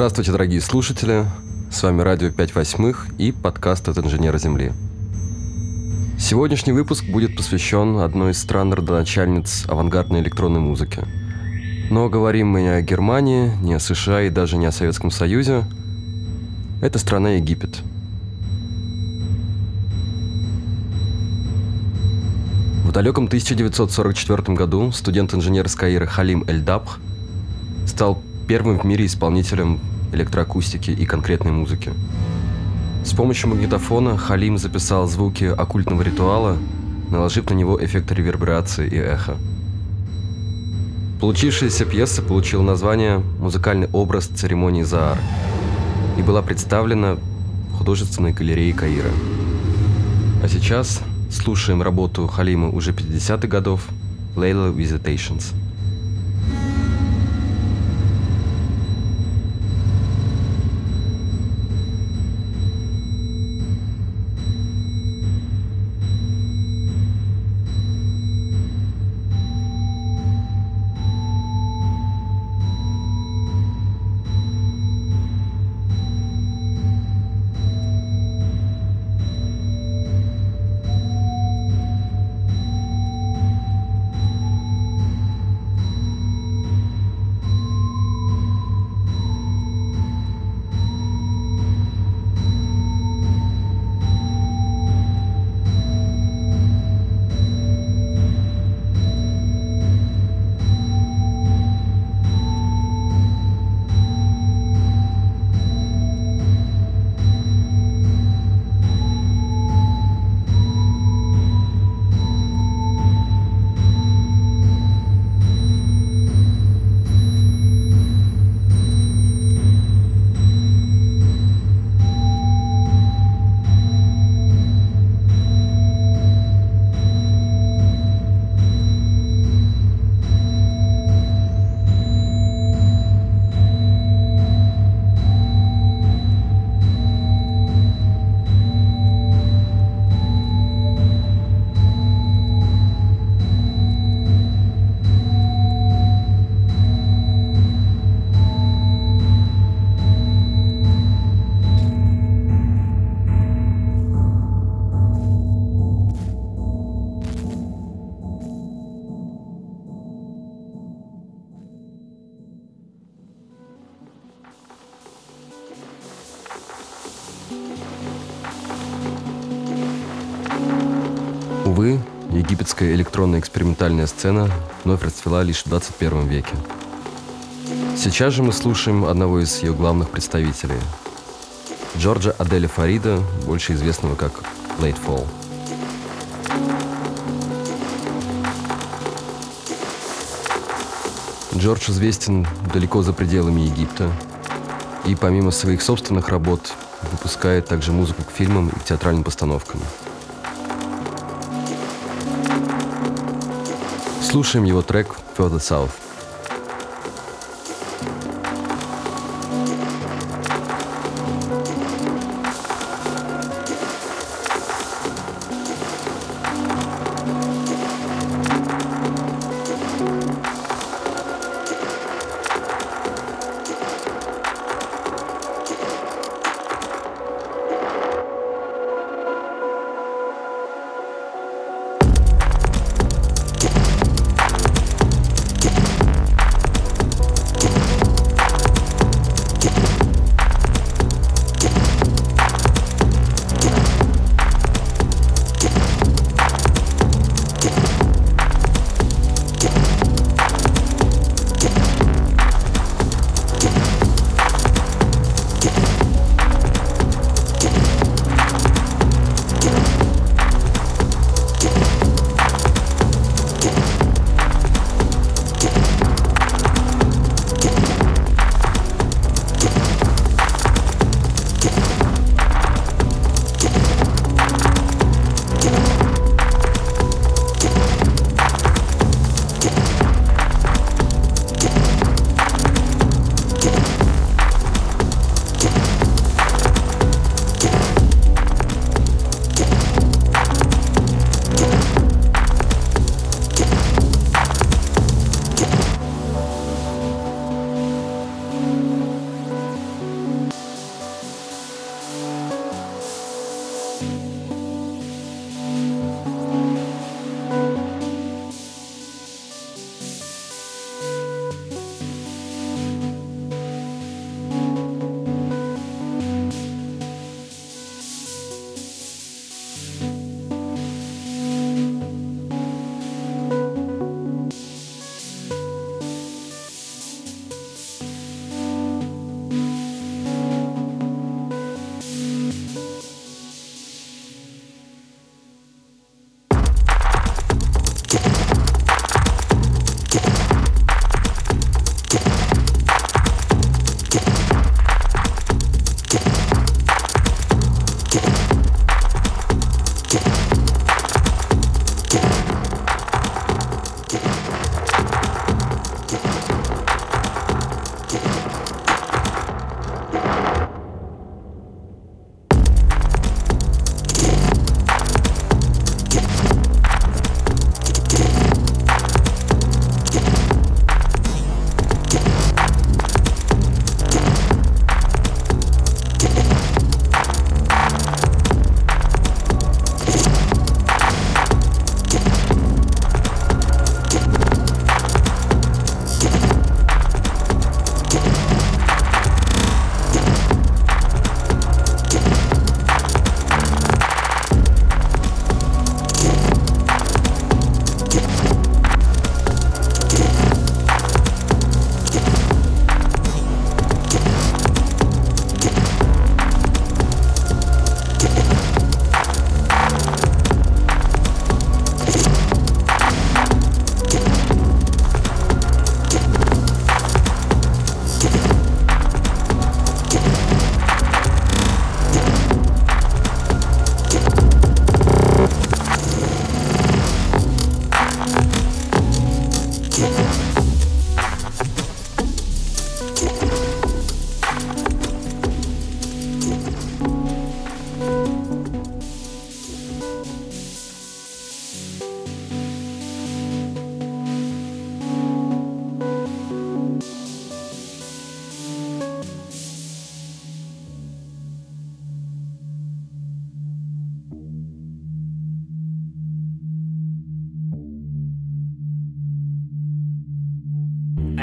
Здравствуйте, дорогие слушатели! С вами радио 5/8 и подкаст от инженера Земли. Сегодняшний выпуск будет посвящен одной из стран родоначальниц авангардной электронной музыки. Но говорим мы не о Германии, не о США и даже не о Советском Союзе. Это страна Египет. В далеком 1944 году студент-инженер из Каира Халим Эль-Дабх стал первым в мире исполнителем электроакустики и конкретной музыки. С помощью магнитофона Халим записал звуки оккультного ритуала, наложив на него эффект реверберации и эха. Получившаяся пьеса получила название «Музыкальный образ церемонии Заар» и была представлена в художественной галерее Каира. А сейчас слушаем работу Халима уже 50-х годов «Layla Visitations». Увы, египетская электронная экспериментальная сцена вновь расцвела лишь в 21 веке. Сейчас же мы слушаем одного из ее главных представителей – Джорджа Аделя Фарида, больше известного как Late Fall. Джордж известен далеко за пределами Египта и помимо своих собственных работ выпускает также музыку к фильмам и к театральным постановкам. Слушаем его трек «Further South».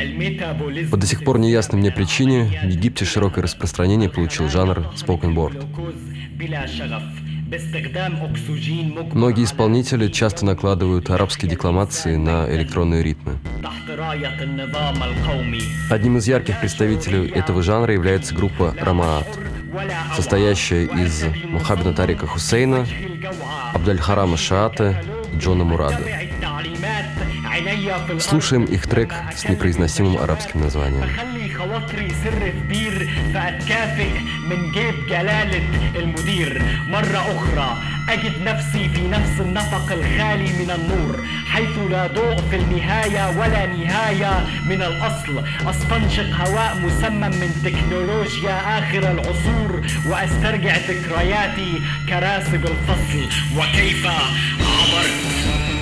По до сих пор неясной мне причине в Египте широкое распространение получил жанр spoken word. Многие исполнители часто накладывают арабские декламации на электронные ритмы. Одним из ярких представителей этого жанра является группа Рамаат, состоящая из Мухаммеда Тарика Хусейна, Абдальхарама Шаата и Джона Мурада. Слушаем их трек с непроизносимым арабским названием. خواطري سر كبير فأتكافئ من جيب جلالة المدير مرة أخرى أجد نفسي في نفس النفق الخالي من النور حيث لا ضوء في النهاية ولا نهاية من الأصل أستنشق هواء مسمم من تكنولوجيا آخر العصور وأسترجع ذكرياتي كراسب الفصل وكيف عبرت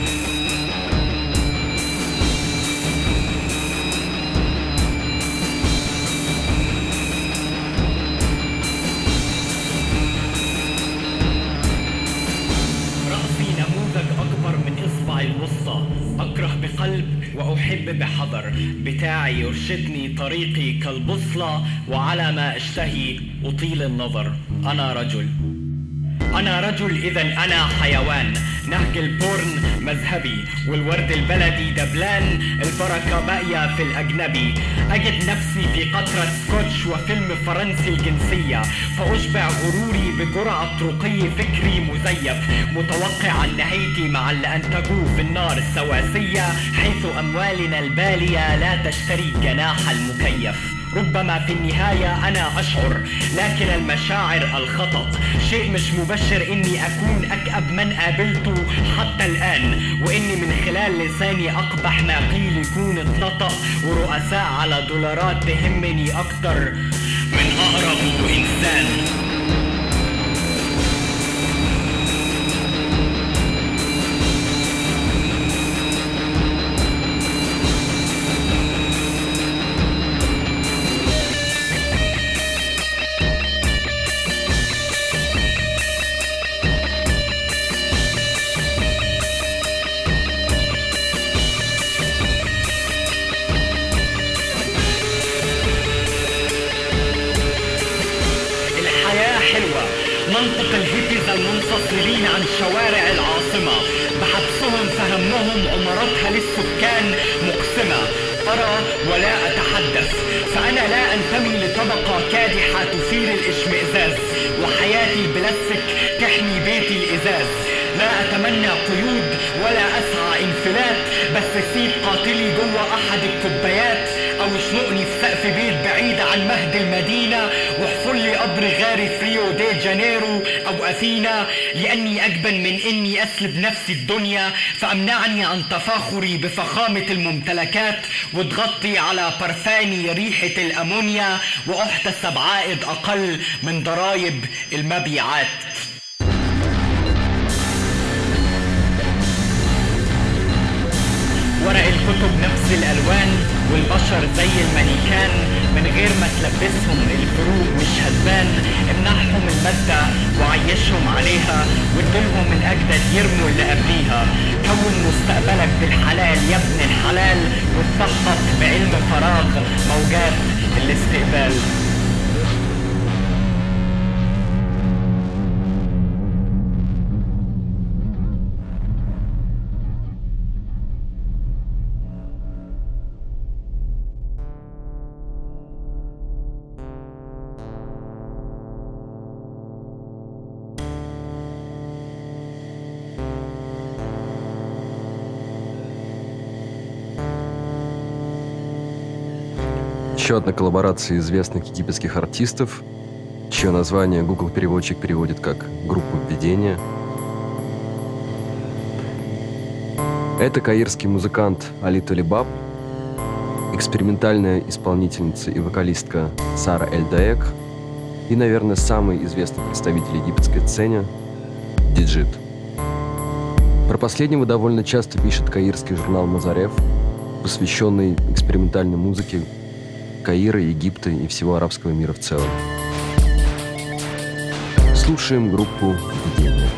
أكره بقلب وأحب بحذر بتاعي يرشدني طريقي كالبوصلة وعلى ما أشتهي أطيل النظر أنا رجل إذن أنا حيوان نهج البورن مذهبي والورد البلدي دبلان البركة باقية في الأجنبي أجد نفسي في قطرة سكوتش وفيلم فرنسي الجنسية فأشبع غروري بجرعة رقي فكري مزيف متوقعا نهايتي مع اللي أنتجوه في النار السواسية حيث أموالنا البالية لا تشتري جناح المكيف ربما في النهاية أنا أشعر لكن المشاعر الخطط شيء مش مبشر إني أكون أكأب من قابلته حتى الآن وإني من خلال لساني أقبح ما قيل يكون اتنطق ورؤساء على دولارات تهمني أكتر من أقرب إنسان منطق الهيبيز المنفصلين عن شوارع العاصمة بحبسهم فهمهم عماراتها للسكان مقسمة أرى ولا أتحدث فأنا لا أنتمي لطبقة كادحة تثير الإشمئزاز وحياتي البلاستيك تحمي بيتي الإزاز لا أتمنى قيود ولا أسعى انفلات بس سيب قاتلي جوه أحد الكوبايات أو اشنقني في سقف بيت بعيد عن مهد المدينة واحفر لي قبر غاري في ريو دي جانيرو أو أثينا لأني أجبن من إني أسلب نفسي الدنيا فأمنعني عن تفاخري بفخامة الممتلكات وتغطي على برفاني ريحة الأمونيا وأحتسب عائد أقل من ضرائب المبيعات ورق الكتب نفس الألوان والبشر زي المانيكان من غير ما تلبسهم الفروق مش هتبان امنحهم المادة وعيشهم عليها وادلهم من أجدد يرموا اللي قبليها كون مستقبلك بالحلال يا ابن الحلال واتثقف بعلم فراغ موجات الاستقبال Еще одна коллаборация известных египетских артистов, чье название Google переводчик переводит как «группа введения». Это каирский музыкант Али Толибаб, экспериментальная исполнительница и вокалистка Сара Эль-Даек и, наверное, самый известный представитель египетской сцены – Диджит. Про последнего довольно часто пишет каирский журнал «Мазареф», посвященный экспериментальной музыке Каира, Египта и всего арабского мира в целом. Слушаем группу «Введение».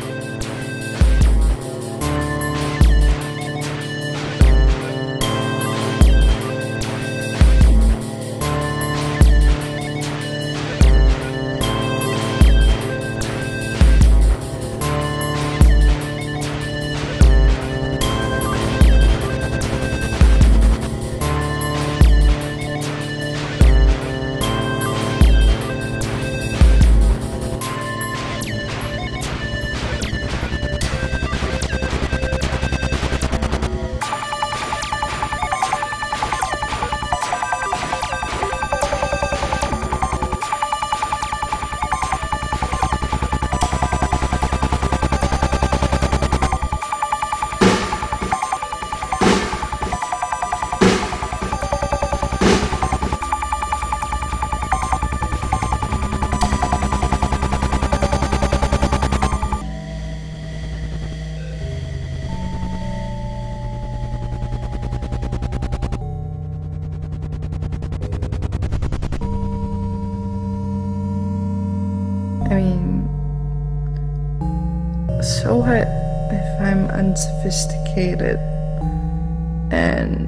So what if I'm unsophisticated and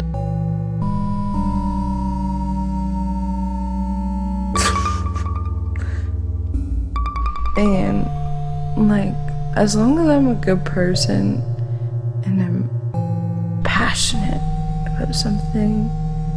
and like, as long as I'm a good person and I'm passionate about something,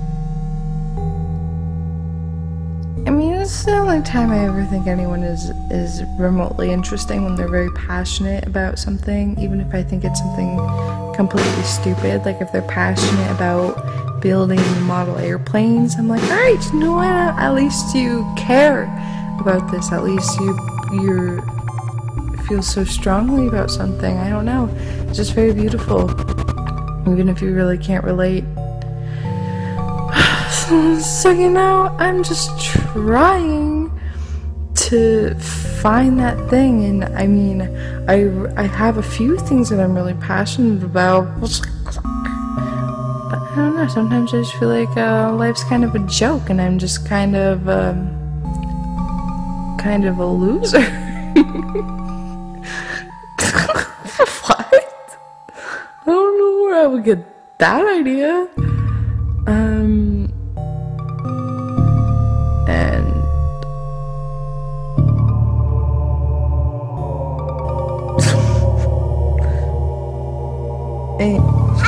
I mean, it's the only time I ever think anyone is remotely interesting, when they're very passionate about something, even if I think it's something completely stupid. Like if they're passionate about building model airplanes, I'm like, all right, you know what? At least you care about this. At least you feel so strongly about something. I don't know. It's just very beautiful, even if you really can't relate. So, you know, I'm just trying to find that thing. And I mean, I have a few things that I'm really passionate about, but I don't know, sometimes I just feel like life's kind of a joke and I'm just kind of a loser. What? I don't know where I would get that idea. And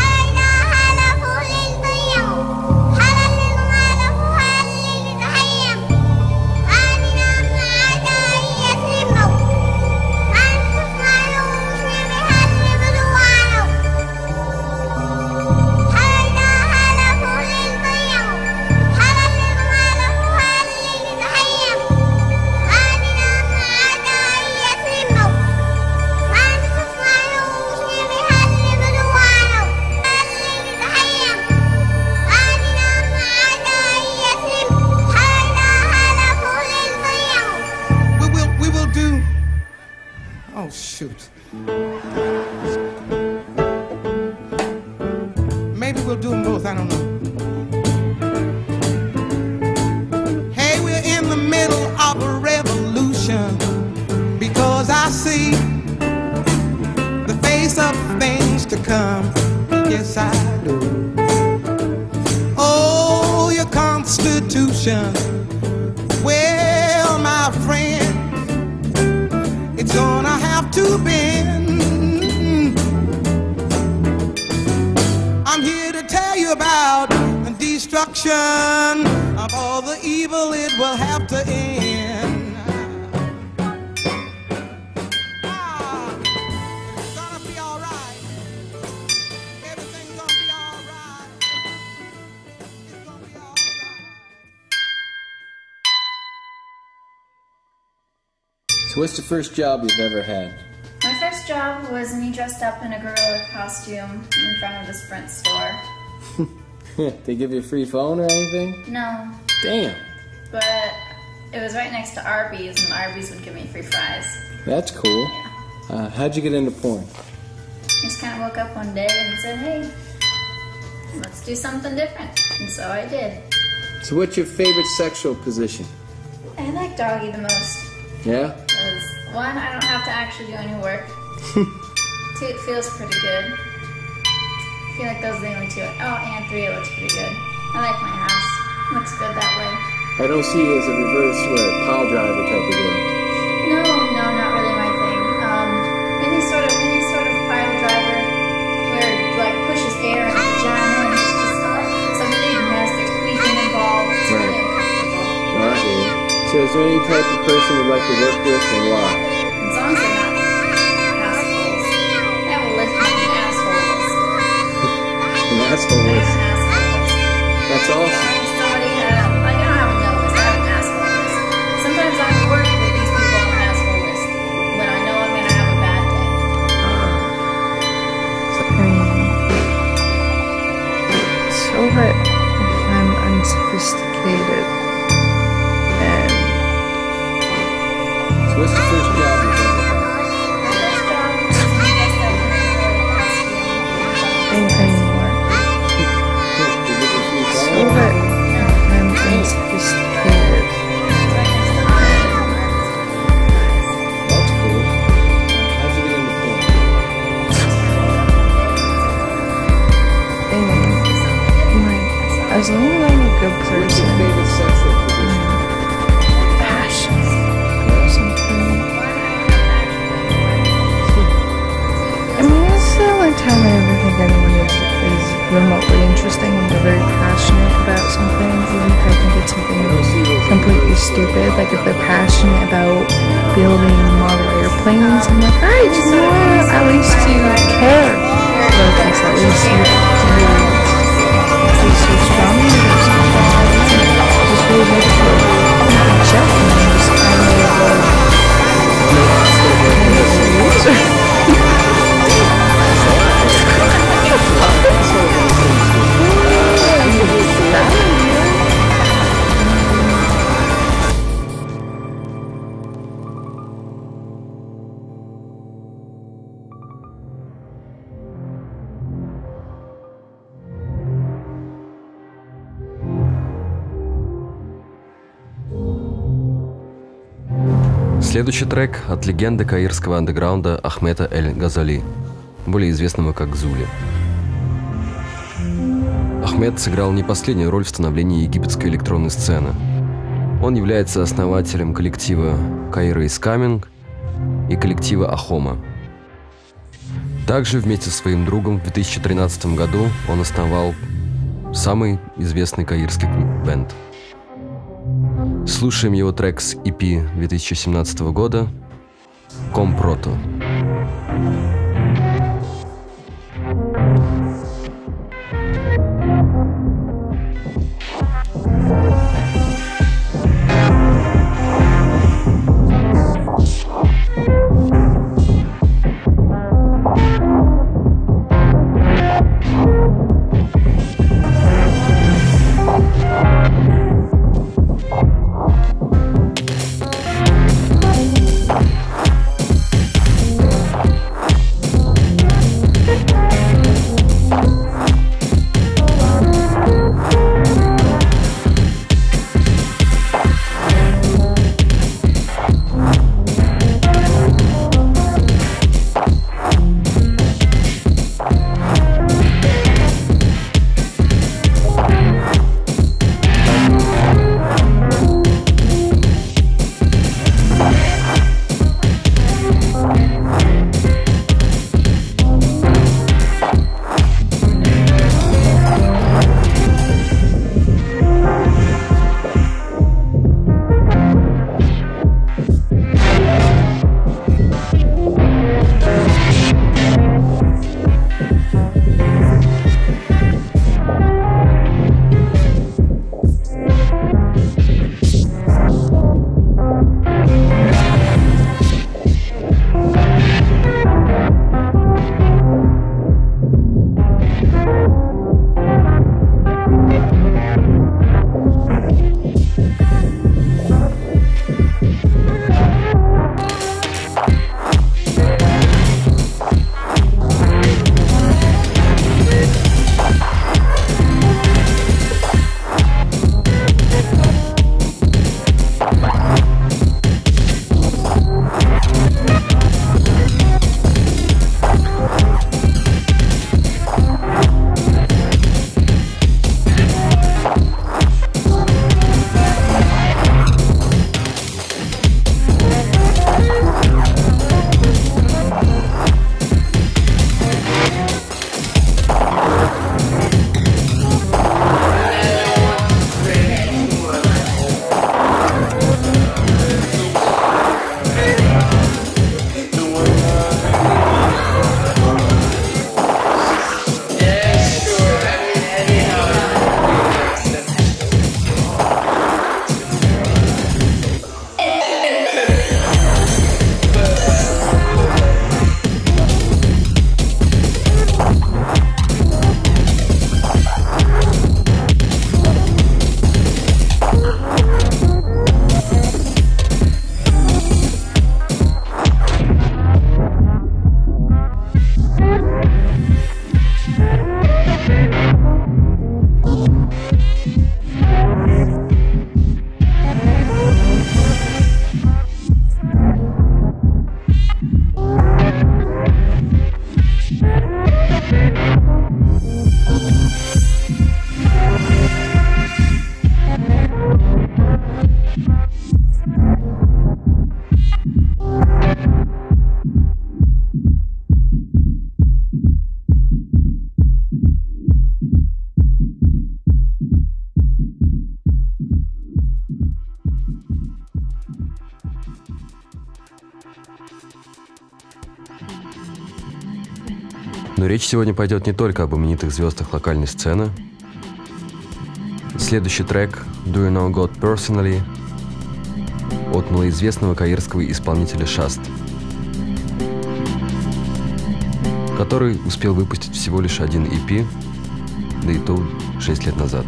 maybe we'll do them both, I don't know. Hey, we're in the middle of a revolution, because I see the face of things to come. Yes, I do. Oh, your Constitution, well, my friend, it's gonna have to bend. I'm here to tell you about the destruction of all the evil. It will have to end. It's gonna be all right. Everything's gonna be all right. It's gonna be all right. So what's the first job you've ever had? My first job was me dressed up in a gorilla costume in front of the Sprint store. They give you a free phone or anything? No, Damn, but it was right next to Arby's, and Arby's would give me free fries. that's cool. Yeah. How'd you get into porn? Just kind of woke up one day and said, hey, let's do something different. And so I did. So what's your favorite sexual position? I like doggy the most. Yeah? Because one, I don't have to actually do any work. Two, it feels pretty good. I feel like those are the only two. Oh, and three, it looks pretty good. I like my house. Looks good that way. I don't see you as a reverse pile driver type of girl. No, not really my thing. Any sort of pile driver where it like pushes air in the vagina and it's just some big mess, there's squeaking involved. It's really uncomfortable. Oh, I hear you. So is there any type of person you'd like to work with and why? As long as they're not assholes. I have a list of asshole list. An asshole I have list. an asshole list. That's awesome. Somebody had, like, I don't have a no list, I have an asshole list. Sometimes I work with these people on an asshole list when I know I'm gonna have a bad day. so what if I'm unsophisticated and So what's the first job you've ever had? My first job was me dressed up in a gorilla costume. anything more? They give you a free So phone? what if I'm unsophisticated? That's cool. How'd you get into porn? as long as I'm a good What's your person. favorite sex ed position? Passionate about something. I mean, it's the only time I ever think anyone is remotely interesting when they're very passionate about something, even if I think it's something completely stupid. Like if they're passionate about building model airplanes, I'm like, alright, you know what? At least you care about this. At least you're strong. Just really make it a check and then just kind Следующий трек от легенды каирского андеграунда Ахмета Эль-Газали, более известного как Зули. Ахмед сыграл не последнюю роль в становлении египетской электронной сцены. Он является основателем коллектива Cairo is Coming и коллектива Ахома. Также вместе со своим другом в 2013 году он основал самый известный каирский бенд. Слушаем его трек с EP 2017 года «Компрото». Но речь сегодня пойдет не только об именитых звездах локальной сцены. Следующий трек «Do You Know God Personally» от малоизвестного каирского исполнителя Шаст, который успел выпустить всего лишь один EP, да и то 6 лет назад.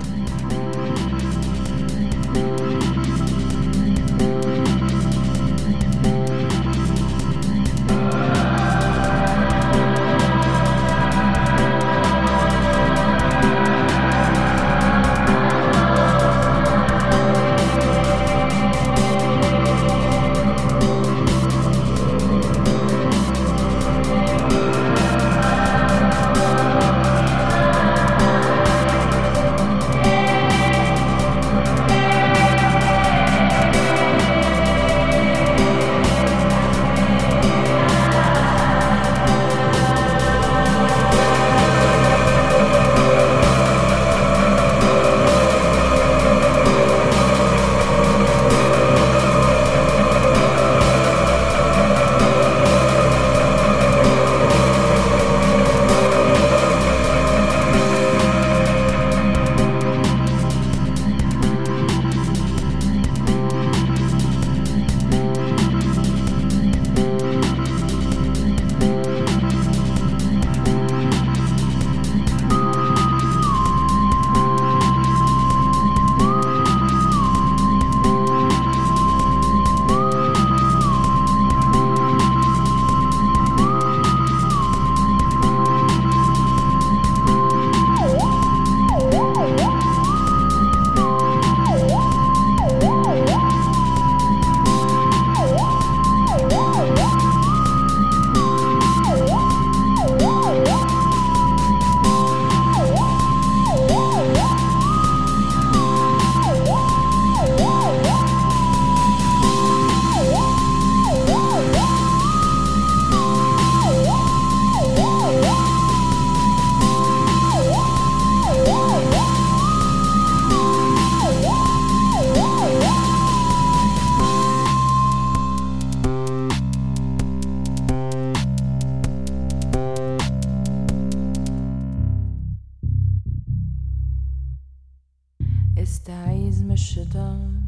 استعيذ من الشيطان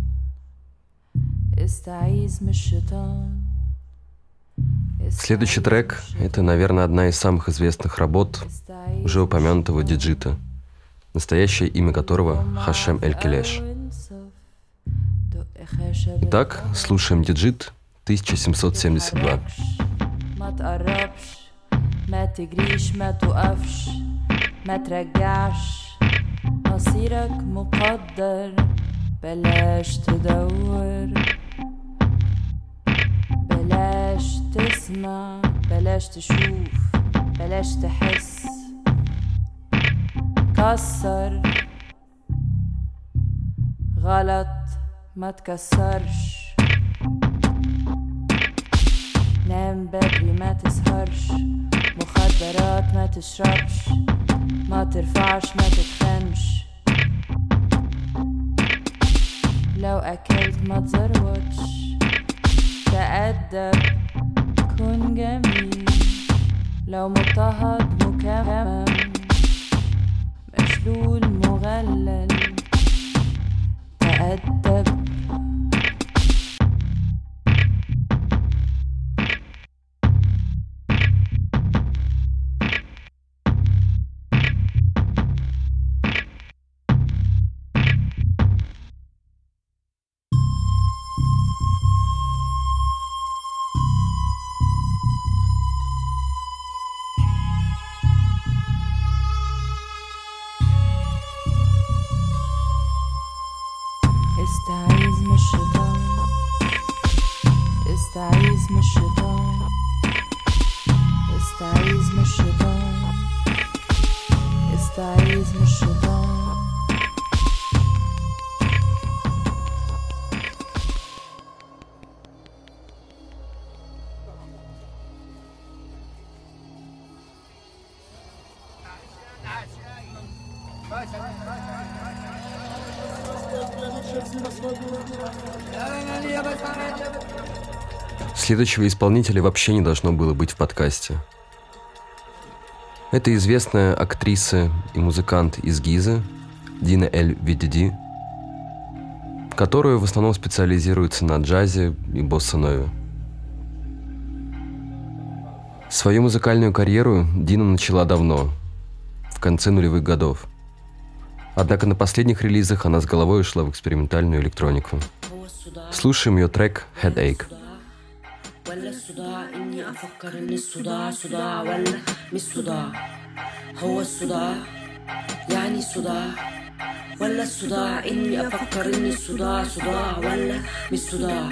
استعيذ من الشيطان. Следующий трек — это, наверное, одна из самых известных работ уже упомянутого Диджита, настоящее имя которого Хашем Эль-Келеш. Итак, слушаем Диджит 1772. ما تقربش ما تجريش ما توقفش ما ترجعش مصيرك مقدر بلاش تدور بلاش تسمع بلاش تشوف بلاش تحس كسر غلط ما تكسرش نام بدري ما تسهرش مخدرات ما تشربش ما ترفعش ما تتخنش لو أكلت ما تزروتش تأدب كن جميل لو مضطهد مكمم مشلول مغلل تأدب استعيذ من الشيطان استعيذ من الشيطان استعيذ من الشيطان استعيذ من الشيطان. Следующего исполнителя вообще не должно было быть в подкасте. Это известная актриса и музыкант из Гизы Дина Эль Видиди, которая в основном специализируется на джазе и босса-нове. Свою музыкальную карьеру Дина начала давно, в конце нулевых годов. Однако на последних релизах она с головой ушла в экспериментальную электронику. Слушаем ее трек «Headache». ولا الصداع إني أفكر إن الصداع صداع ولا مش صداع هو الصداع يعني صداع ولا الصداع إني أفكر إن الصداع صداع ولا مش صداع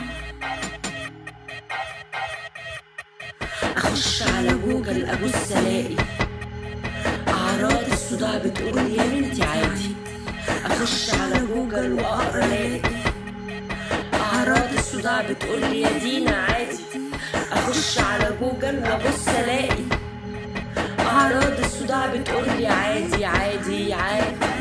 أخش على جوجل أبص ألاقي أعراض الصداع بتقول يا بنتي عادي أخش على جوجل وأقرأ ألاقي أعراض الصداع بتقول لي يا دينا عادي أخش على جوجل وأبص ألاقي أعراض الصداع بتقول لي عادي عادي عادي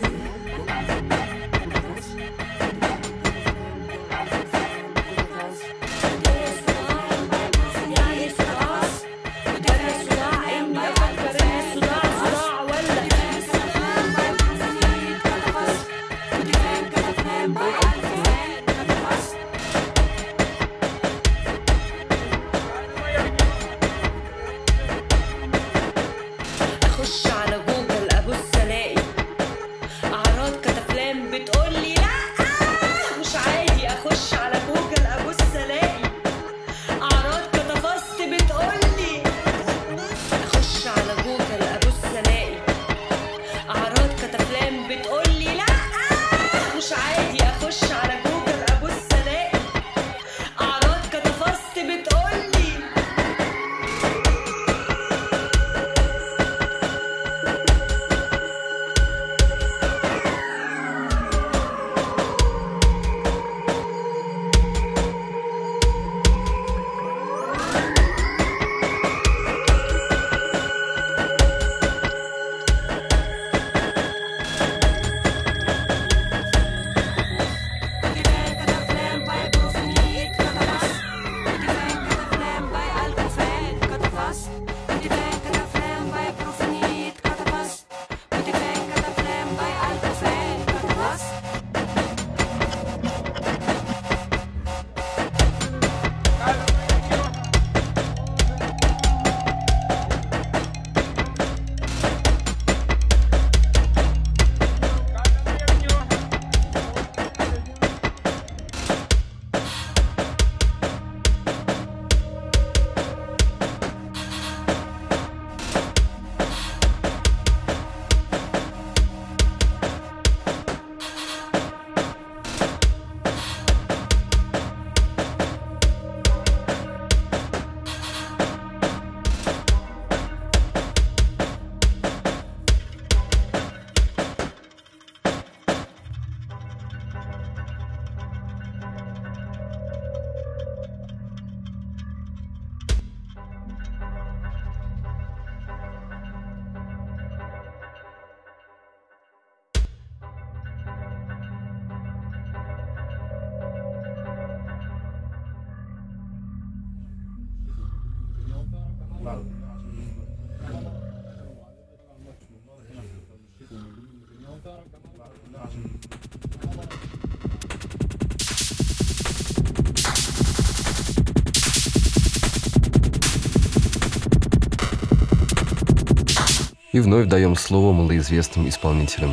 И вновь даем слово малоизвестным исполнителям.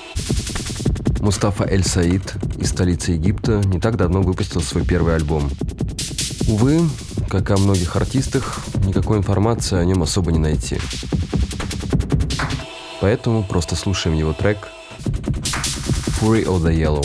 Мустафа Эль-Саид из столицы Египта не так давно выпустил свой первый альбом. Увы, как и о многих артистах, никакой информации о нем особо не найти. Поэтому просто слушаем его трек «Fury of the Yellow».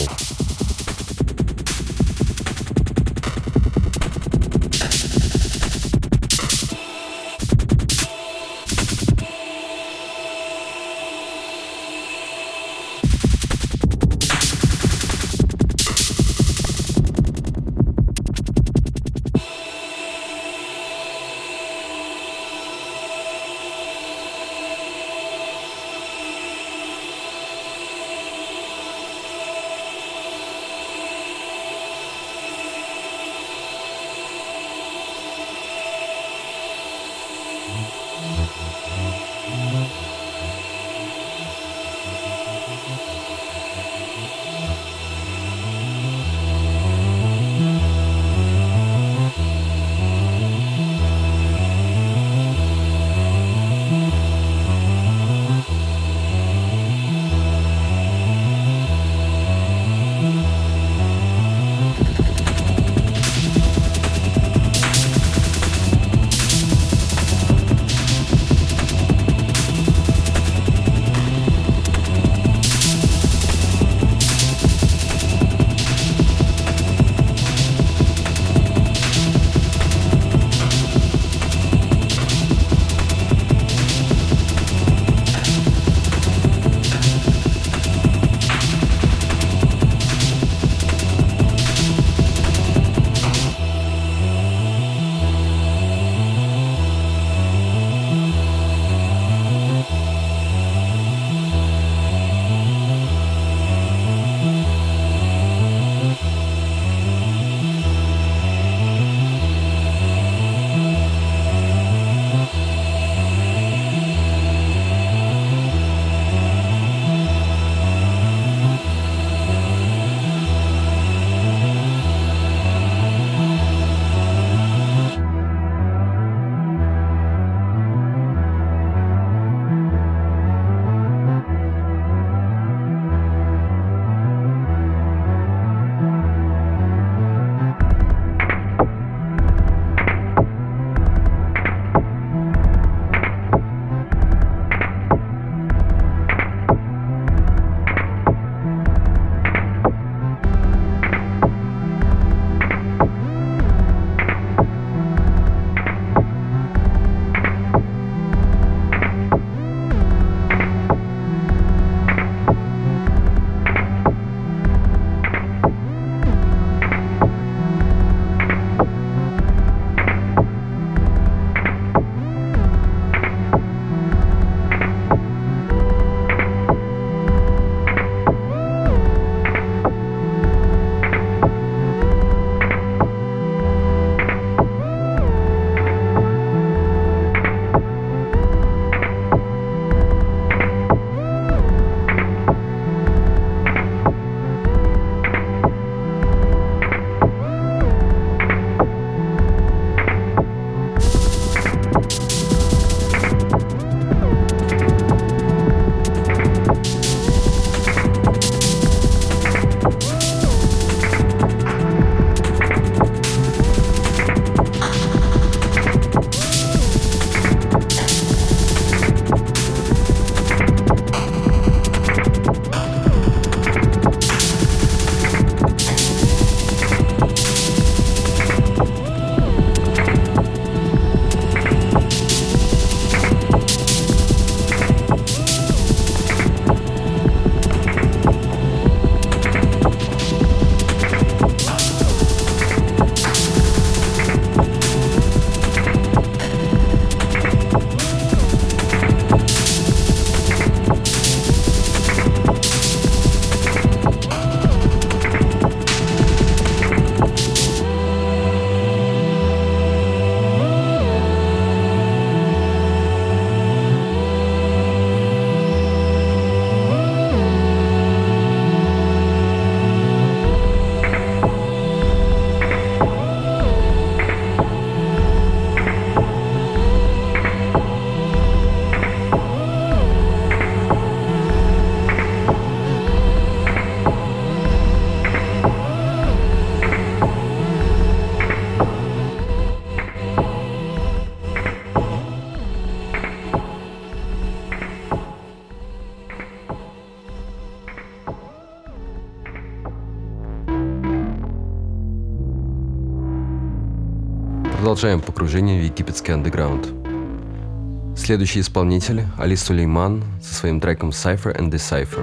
продолжаем погружение в египетский андеграунд. Следующий исполнитель – Али Сулейман со своим треком Cypher and Decipher.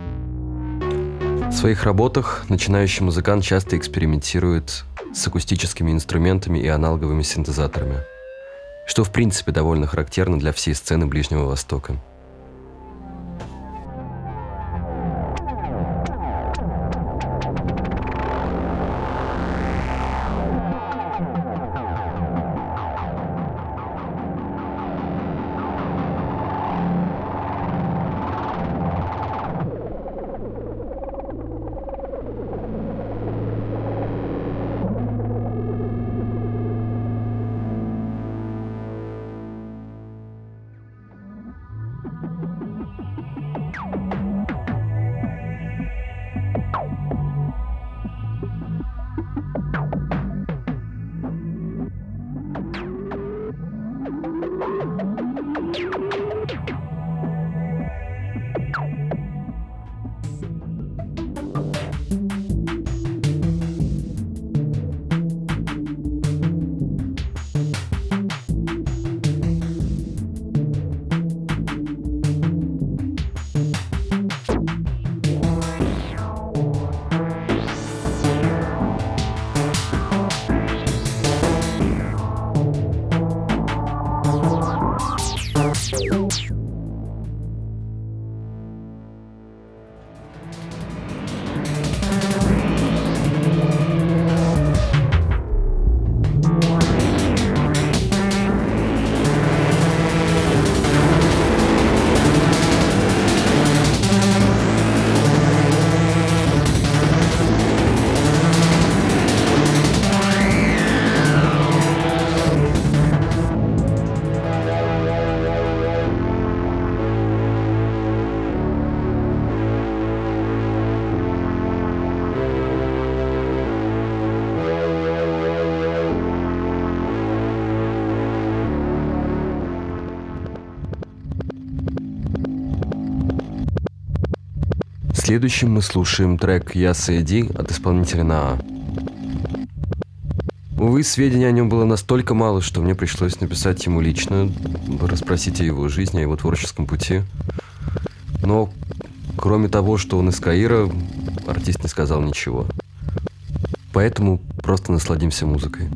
В своих работах начинающий музыкант часто экспериментирует с акустическими инструментами и аналоговыми синтезаторами, что в принципе довольно характерно для всей сцены Ближнего Востока. Следующим мы слушаем трек «Я Сэйди» от исполнителя Наа. Увы, сведений о нем было настолько мало, что мне пришлось написать ему лично, расспросить о его жизни, о его творческом пути. Но кроме того, что он из Каира, артист не сказал ничего. Поэтому просто насладимся музыкой.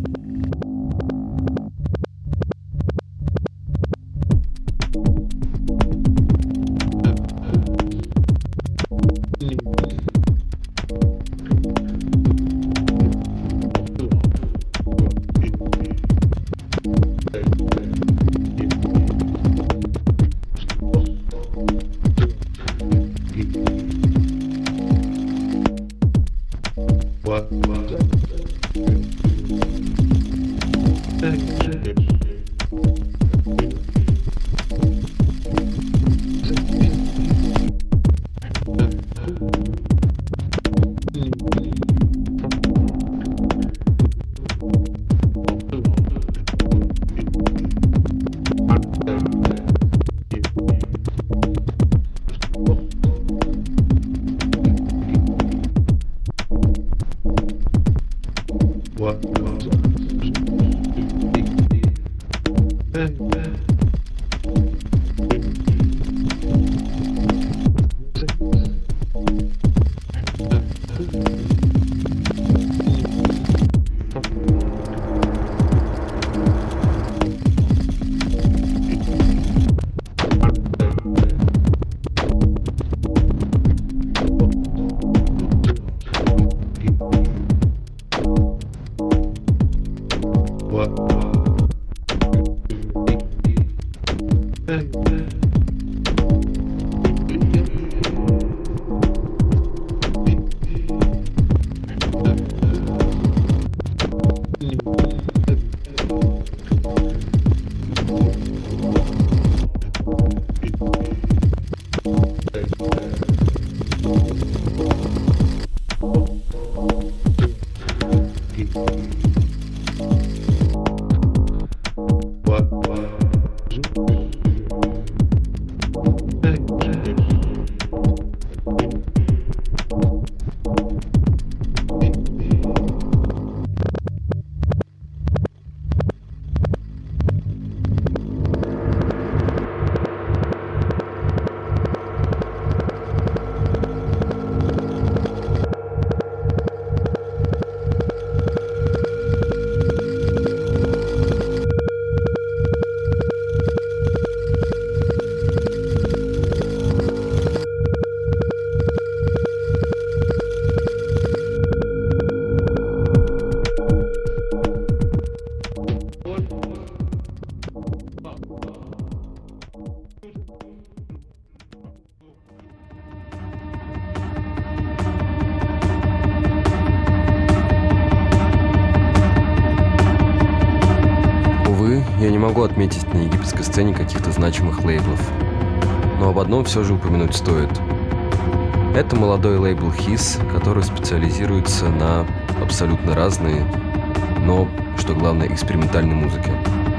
Увы, я не могу отметить на египетской сцене каких-то значимых лейблов. Но об одном все же упомянуть стоит. Это молодой лейбл His, который специализируется на абсолютно разной, но, что главное, экспериментальной музыке.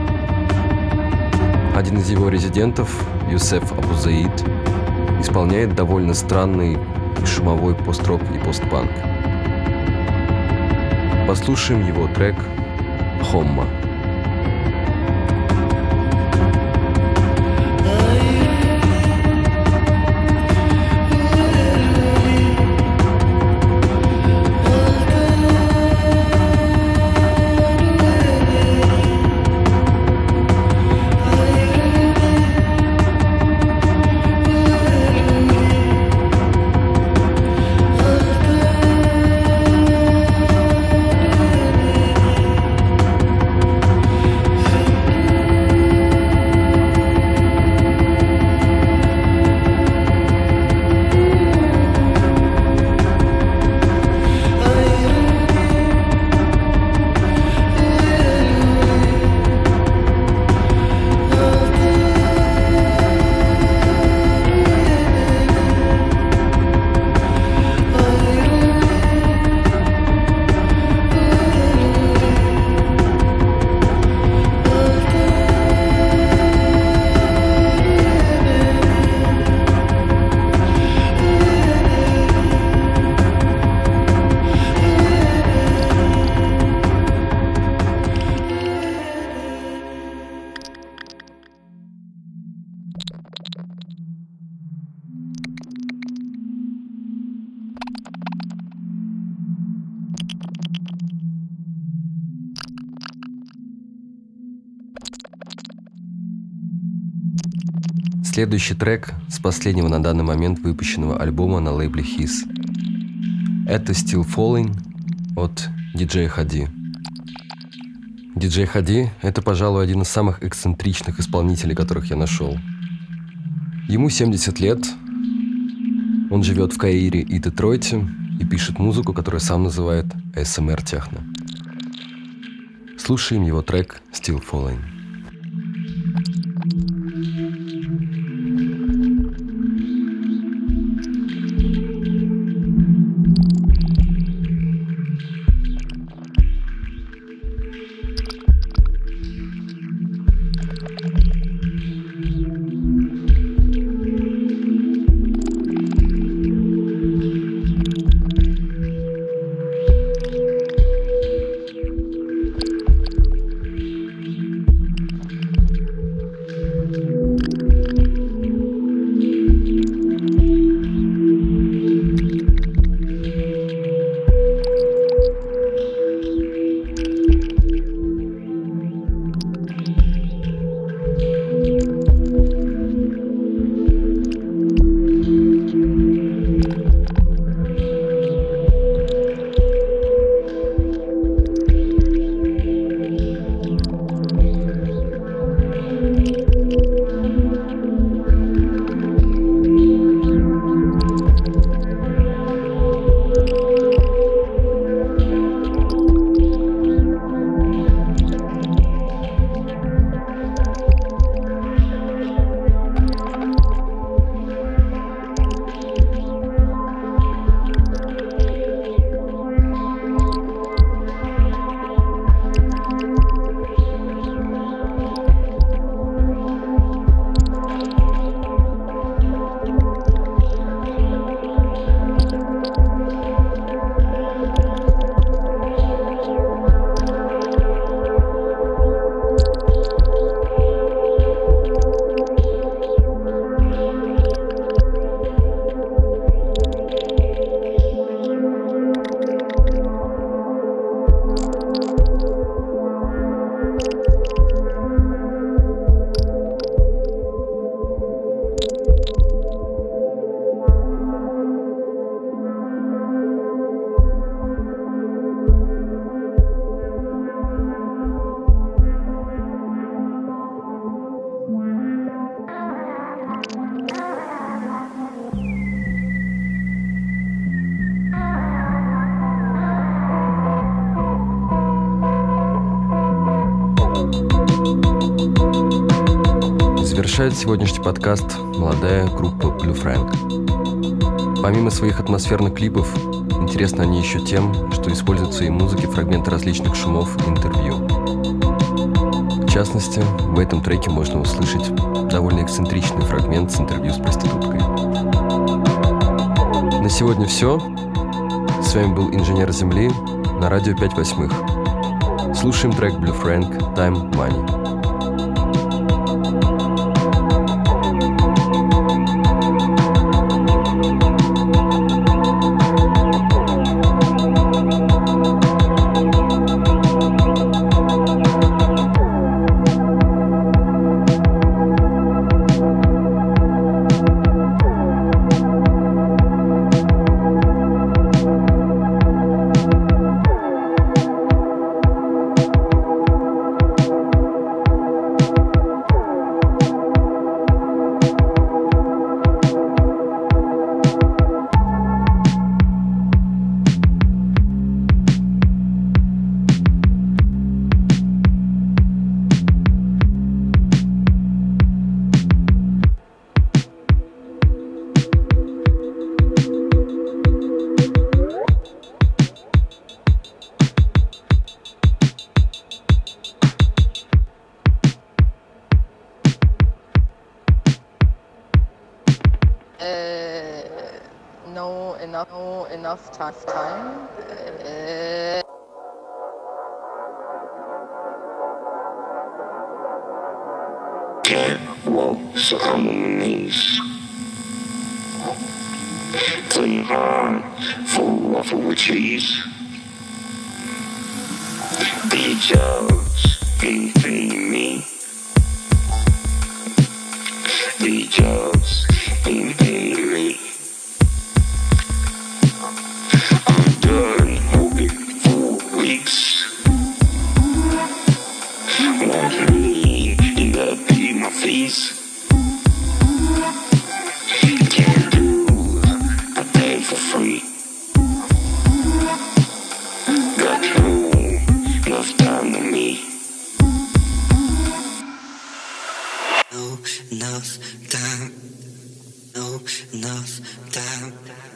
Один из его резидентов, Юсеф Абузаид, исполняет довольно странный и шумовой пост-рок и постпанк. Послушаем его трек «Хомма». Следующий трек с последнего на данный момент выпущенного альбома на лейбле His. Это Still Falling от DJ Hadi. DJ Hadi — это, пожалуй, один из самых эксцентричных исполнителей, которых я нашел. Ему 70 лет, он живет в Каире и Детройте и пишет музыку, которую сам называет ASMR-техно. Слушаем его трек Still Falling. Завершает сегодняшний подкаст молодая группа Blue Frank. Помимо своих атмосферных клипов, интересны они еще тем, что используют в своей музыке фрагменты различных шумов и интервью. В частности, в этом треке можно услышать довольно эксцентричный фрагмент с интервью с проституткой. На сегодня все. С вами был Инженер Земли на радио 5/8. Слушаем трек Blue Frank «Time Money». enough time. Walks on my knees. Clean hard, full waffle with cheese. Big jobs, ain't paying me. Big jobs, ain't paying me. I'm done working 4 weeks. Want me, you gotta pay my fees. Can't do, I pay for free. Got no enough time to me. No enough time. No enough time.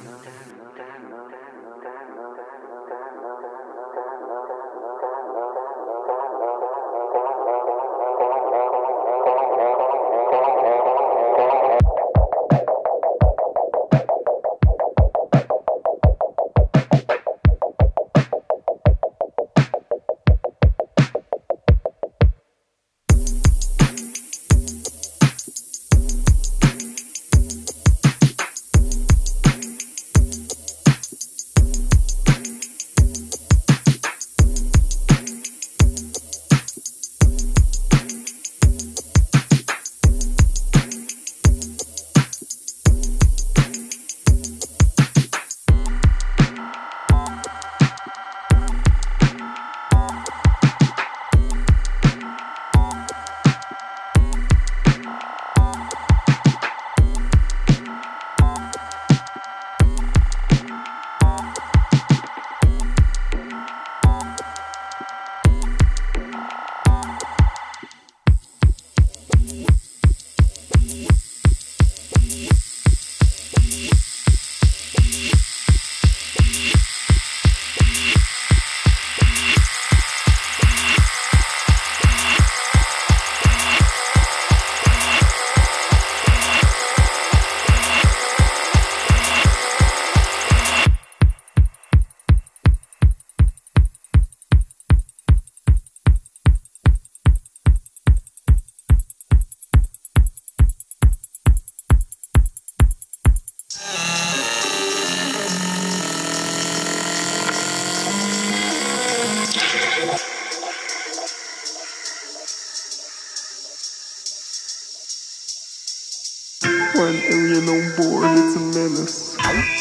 One alien on board, it's a menace.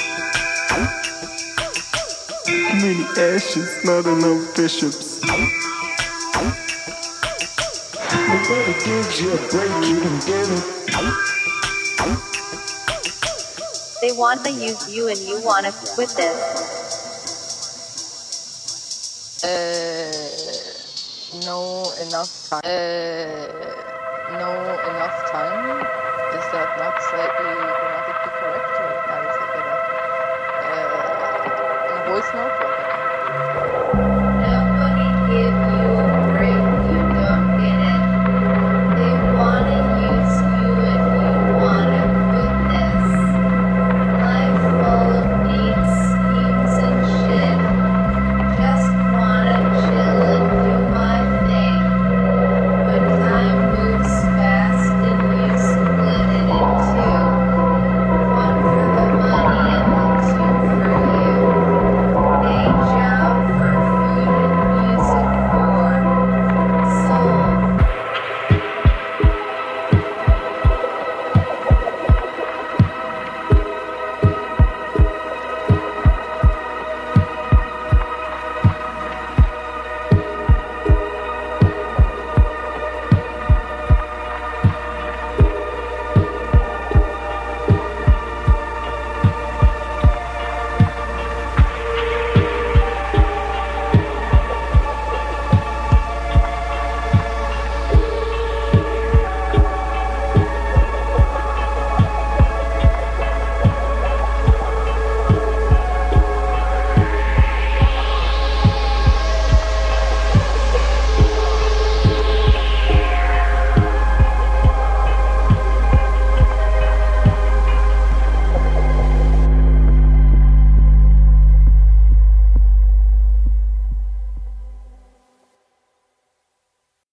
Too many ashes, not enough bishops. Nobody gives you a break, you can get it. They want to use you and you want to quit this. No enough time. No enough time. slightly